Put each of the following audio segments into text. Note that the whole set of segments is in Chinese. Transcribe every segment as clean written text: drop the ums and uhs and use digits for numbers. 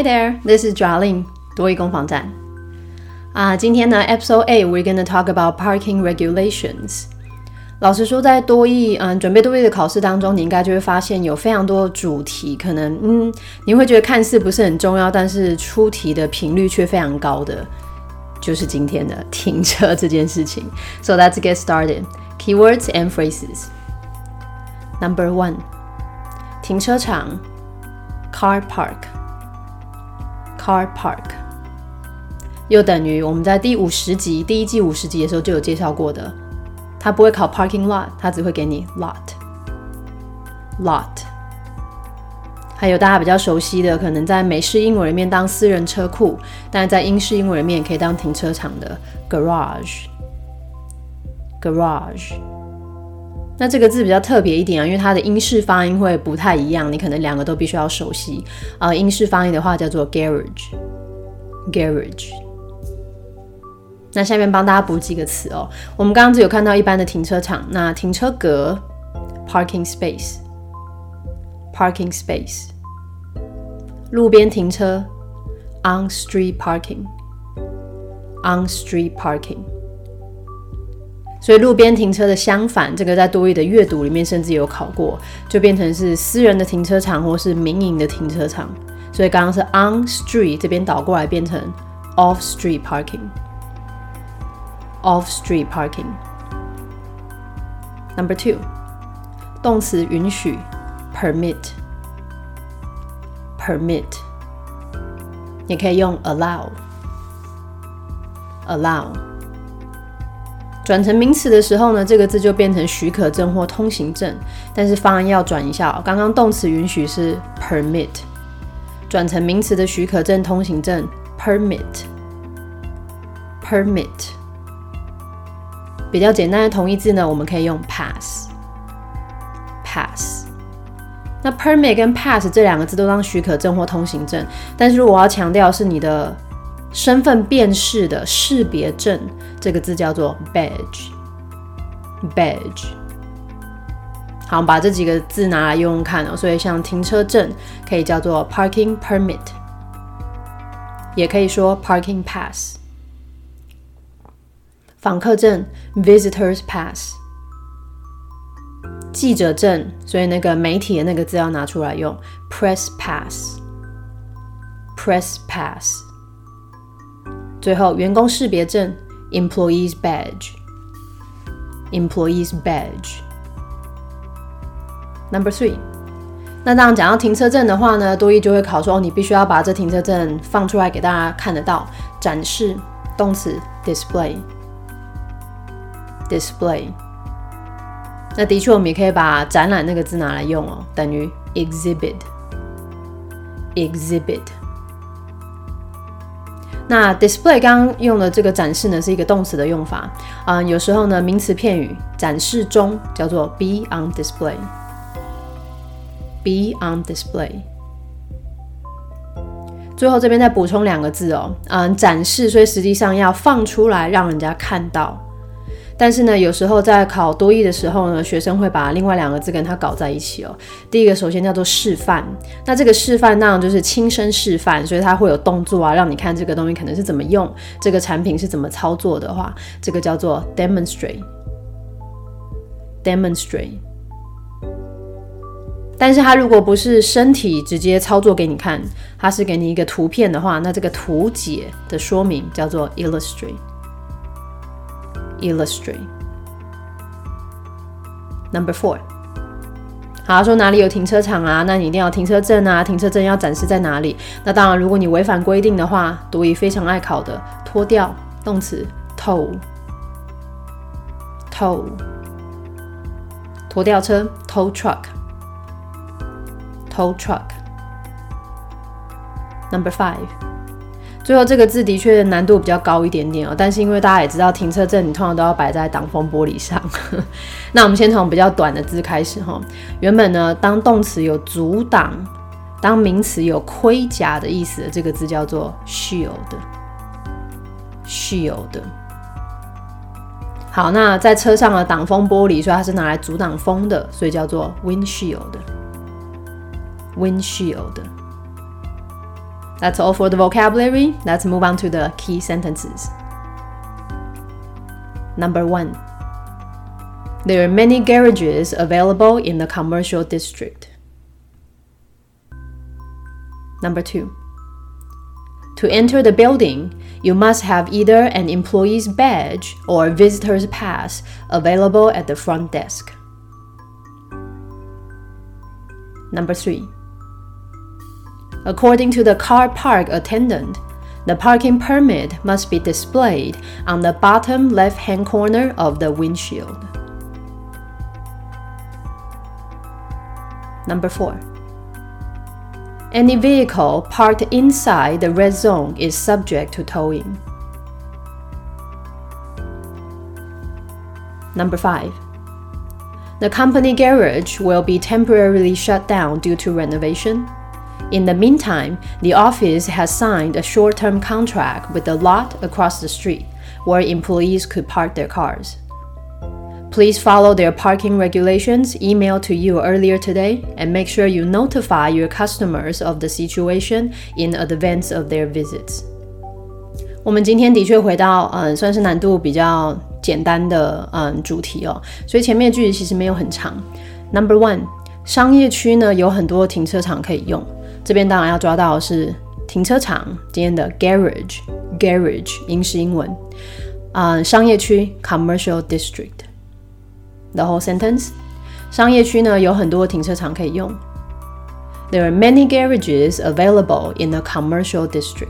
Hi there, this is Jolin 多益攻防战今天呢 Episode 8 we're going to talk about parking regulations。 老实说在多益准备多益的考试当中，你应该就会发现有非常多的主题，可能你会觉得看似不是很重要，但是出题的频率却非常高的，就是今天的停车这件事情。 So let's get started. Keywords and phrases. Number 1. 停车场 Car park. Car park 又等于我们在第50集第一季50集的时候就有介绍过的，它不会考 parking lot， 它只会给你 lot。 还有大家比较熟悉的，可能在美式英文里面当私人车库，但是在英式英文里面也可以当停车场的 garage。 那这个字比较特别一点因为它的英式发音会不太一样，你可能两个都必须要熟悉英式发音的话叫做 garage。 那下面帮大家补几个词我们刚刚只有看到一般的停车场，那停车格 parking space。 路边停车 on street parking。 所以路边停车的相反，这个在多益的阅读里面甚至有考过，就变成是私人的停车场或是民营的停车场。所以刚刚是 on street， 这边倒过来变成 off street parking。Off street parking. Number 2. 动词允许 permit。 也可以用 allow。 转成名词的时候呢，这个字就变成许可证或通行证，但是发音要转一下刚刚动词允许是 permit， 转成名词的許可證通行證 permit。 比较简单的同义字呢，我们可以用 pass。 那 permit 跟 pass 这两个字都当许可证或通行证，但是如果我要强调是你的身份辨识的识别证，这个字叫做 badge。 好，把这几个字拿来用用看所以像停车证可以叫做 parking permit， 也可以说 parking pass。 访客证 visitors pass。 记者证，所以那个媒体的那个字要拿出来用 press pass。 最后员工识别证 employees badge。 Number 3. 那当然讲到停车证的话呢，多益就会考说你必须要把这停车证放出来给大家看得到，展示，动词 display。 那的确我们也可以把展览那个字拿来用等于 exhibit。 那 display 刚刚用的这个展示呢是一个动词的用法有时候呢名词片语展示中叫做 be on display。 最后这边再补充两个字展示，所以实际上要放出来让人家看到，但是呢有时候在考多益的时候呢，学生会把另外两个字跟它搞在一起第一个首先叫做示范，那这个示范当然就是亲身示范，所以它会有动作让你看这个东西可能是怎么用，这个产品是怎么操作的话，这个叫做 demonstrate。 但是它如果不是身体直接操作给你看，它是给你一个图片的话，那这个图解的说明叫做 illustrate。 Number 4. 好，说哪里有停车场那你一定要有停车证停车证要展示在哪里，那当然如果你违反规定的话，多益非常爱考的脱掉，动词 tow。 拖吊车 tow truck。 Number 5. 最后这个字的确难度比较高一点点但是因为大家也知道停车证你通常都要摆在挡风玻璃上那我们先从比较短的字开始原本呢当动词有阻挡，当名词有盔甲的意思的这个字叫做 shield。 好，那在车上的挡风玻璃，所以它是拿来阻挡风的，所以叫做 windshield。 That's all for the vocabulary. Let's move on to the key sentences. Number 1. There are many garages available in the commercial district. Number 2. To enter the building, you must have either an employee's badge or a visitor's pass available at the front desk. Number 3. According to the car park attendant, the parking permit must be displayed on the bottom left-hand corner of the windshield. Number 4. Any vehicle parked inside the red zone is subject to towing. Number 5. The company garage will be temporarily shut down due to renovation. In the meantime, the office has signed a short-term contract with the lot across the street where employees could park their cars. Please follow their parking regulations emailed to you earlier today and make sure you notify your customers of the situation in advance of their visits. 我们今天的确回到算是难度比较简单的主题哦，所以前面的句子其实没有很长。Number 1， 商业区呢有很多停车场可以用，这边当然要抓到的是停车场，今天的 garage 英式英文，商业区 commercial district。The whole sentence. 商业区呢有很多停车场可以用。There are many garages available in the commercial district.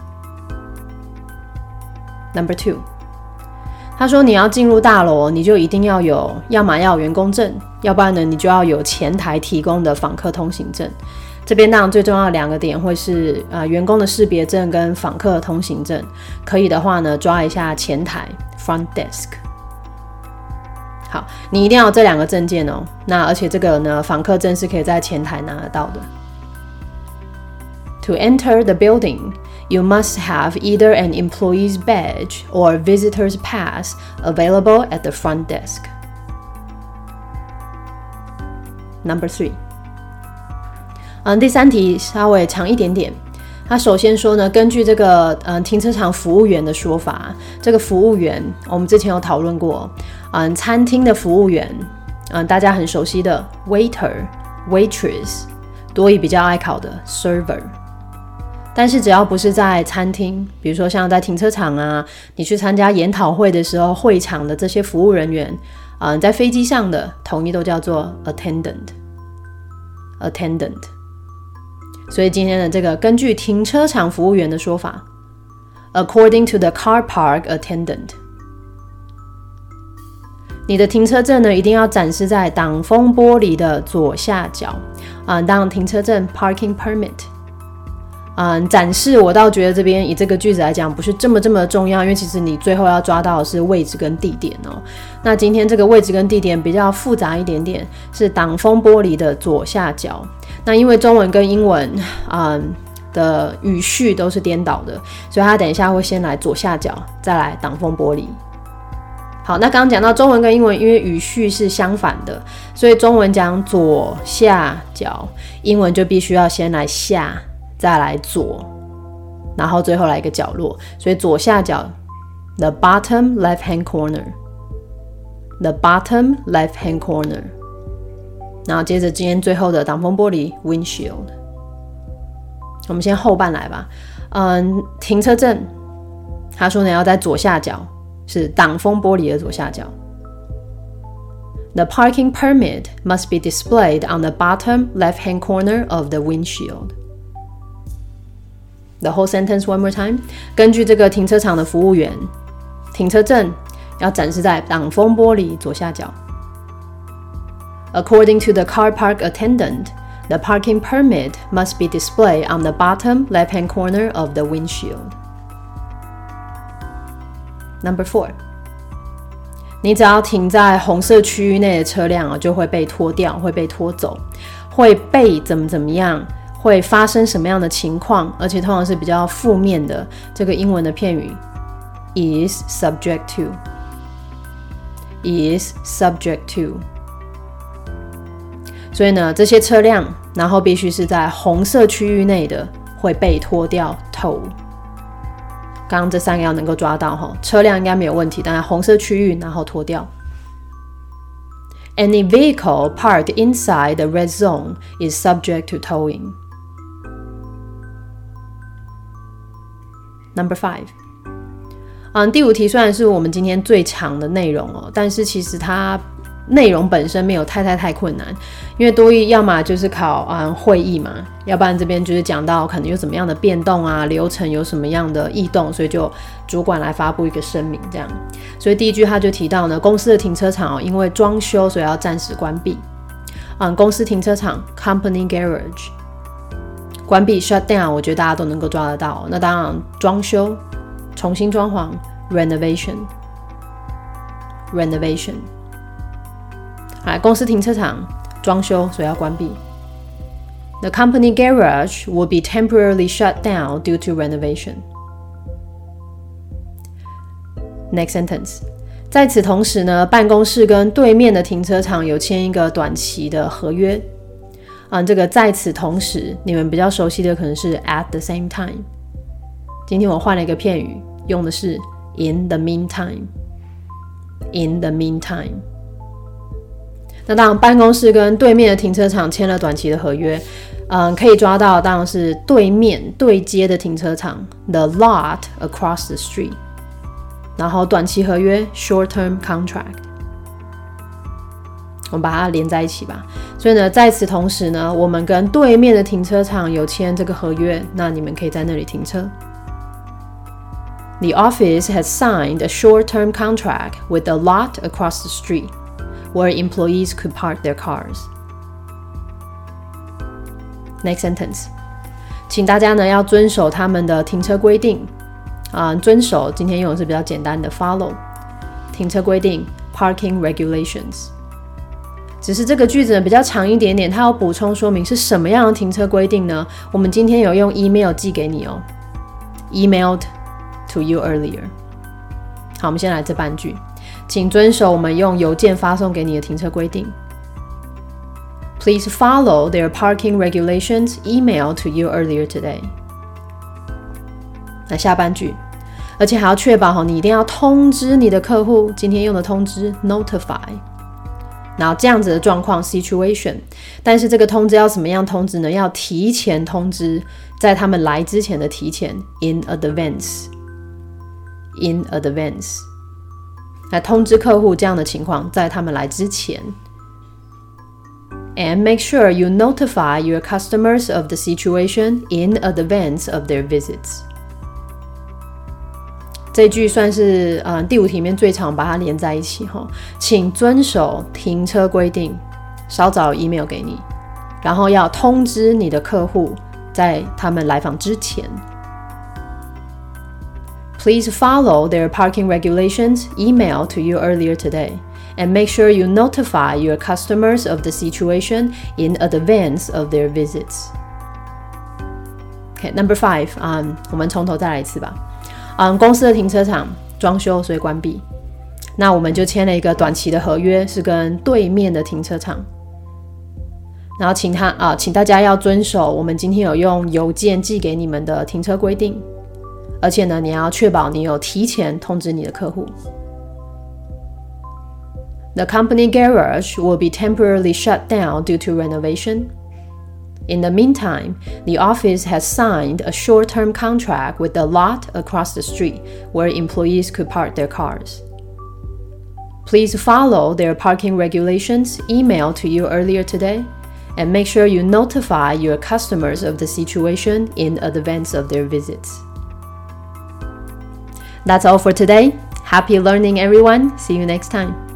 Number 2. 他说你要进入大楼，你就一定要有，要么要有员工证，要不然呢你就要有前台提供的访客通行证。这边当然最重要的2个点会是员工的识别证跟访客通行证。可以的话呢，抓一下前台 front desk。好，你一定要有这2个证件哦。那而且这个呢，访客证是可以在前台拿得到的。To enter the building, you must have either an employee's badge or a visitor's pass available at the front desk. Number 3. 第3题稍微长一点点。他首先说呢，根据这个停车场服务员的说法，这个服务员我们之前有讨论过，餐厅的服务员，大家很熟悉的 waiter、waitress， 多益比较爱考的 server。但是只要不是在餐厅，比如说像在停车场啊，你去参加研讨会的时候，会场的这些服务人员，在飞机上的统一都叫做 attendant。所以今天的这个根据停车场服务员的说法 according to the car park attendant， 你的停车证呢一定要展示在挡风玻璃的左下角当停车证 parking permit。展示我倒觉得这边以这个句子来讲不是这么重要，因为其实你最后要抓到的是位置跟地点哦。那今天这个位置跟地点比较复杂一点点，是挡风玻璃的左下角。那因为中文跟英文的语序都是颠倒的，所以他等一下会先来左下角，再来挡风玻璃。好，那刚刚讲到中文跟英文因为语序是相反的，所以中文讲左下角，英文就必须要先来下再来左，然后最后来一个角落，所以左下角 the bottom left hand corner， 然后接着今天最后的挡风玻璃 windshield。 我们先后半来吧。停车证他说呢要在左下角，是挡风玻璃的左下角。The parking permit must be displayed on the bottom left hand corner of the windshield.The whole sentence one more time. 根据这个停车场的服务员，停车证要展示在挡风玻璃左下角。According to the car park attendant, the parking permit must be displayed on the bottom left-hand corner of the windshield. Number 4. 你只要停在红色区域内的车辆就会被拖掉，会被拖走，会被怎么样，会发生什么样的情况，而且通常是比较负面的。这个英文的片语 is subject to， 所以呢，这些车辆然后必须是在红色区域内的会被拖掉 tow。刚刚这3个要能够抓到，车辆应该没有问题，当然红色区域然后拖掉。Any vehicle parked inside the red zone is subject to towing. Number 5. 第5题虽然是我们今天最长的内容但是其实它内容本身没有太困难，因为多益要么就是考会议嘛，要不然这边就是讲到可能有怎么样的变动啊，流程有什么样的异动，所以就主管来发布一个声明这样。所以第一句他就提到呢，公司的停车场因为装修所以要暂时关闭。公司停车场 company garage 关闭 shut down， 我觉得大家都能够抓得到。那当然装修重新装潢 renovation。公司停车场装修所以要关闭。The company garage will be temporarily shut down due to renovation. Next sentence. 在此同时呢，办公室跟对面的停车场有签一个短期的合约。这个在此同时，你们比较熟悉的可能是 at the same time。今天我换了一个片语，用的是 in the meantime。In the meantime。那当然，办公室跟对面的停车场签了短期的合约，可以抓到当然是对面对接的停车场 the lot across the street， 然后短期合约 short-term contract， 我们把它连在一起吧。所以呢，在此同时呢，我们跟对面的停车场有签这个合约，那你们可以在那里停车。The office has signed a short-term contract with the lot across the street.Where employees could park their cars. Next sentence. 请大家呢要遵守他们的停车规定。遵守今天用的是比较简单的 follow。停车规定 parking regulations。只是这个句子呢比较长一点点，它有补充说明是什么样的停车规定呢？我们今天有用 email 寄给你Emailed to you earlier。好，我们先来这半句。请遵守我们用邮件发送给你的停车规定。Please follow their parking regulations emailed to you earlier today. 那下半句，而且还要确保你一定要通知你的客户，今天用的通知 notify。然后这样子的状况 situation， 但是这个通知要怎么样通知呢？要提前通知，在他们来之前的提前 in advance。来通知客户这样的情况，在他们来之前。And make sure you notify your customers of the situation in advance of their visits. 这句算是第5题里面最常把它连在一起请遵守停车规定，稍早 email 给你，然后要通知你的客户在他们来访之前。Please follow their parking regulations emailed to you earlier today, and make sure you notify your customers of the situation in advance of their visits. Okay, number 5, 我们从头再来一次吧。公司的停车场装修所以关闭，那我们就签了一个短期的合约，是跟对面的停车场。然后请大家要遵守我们今天有用邮件寄给你们的停车规定。而且呢，你要确保你有提前通知你的客户。The company garage will be temporarily shut down due to renovation. In the meantime, the office has signed a short-term contract with the lot across the street where employees could park their cars. Please follow their parking regulations emailed to you earlier today, and make sure you notify your customers of the situation in advance of their visits.That's all for today. Happy learning, everyone. See you next time.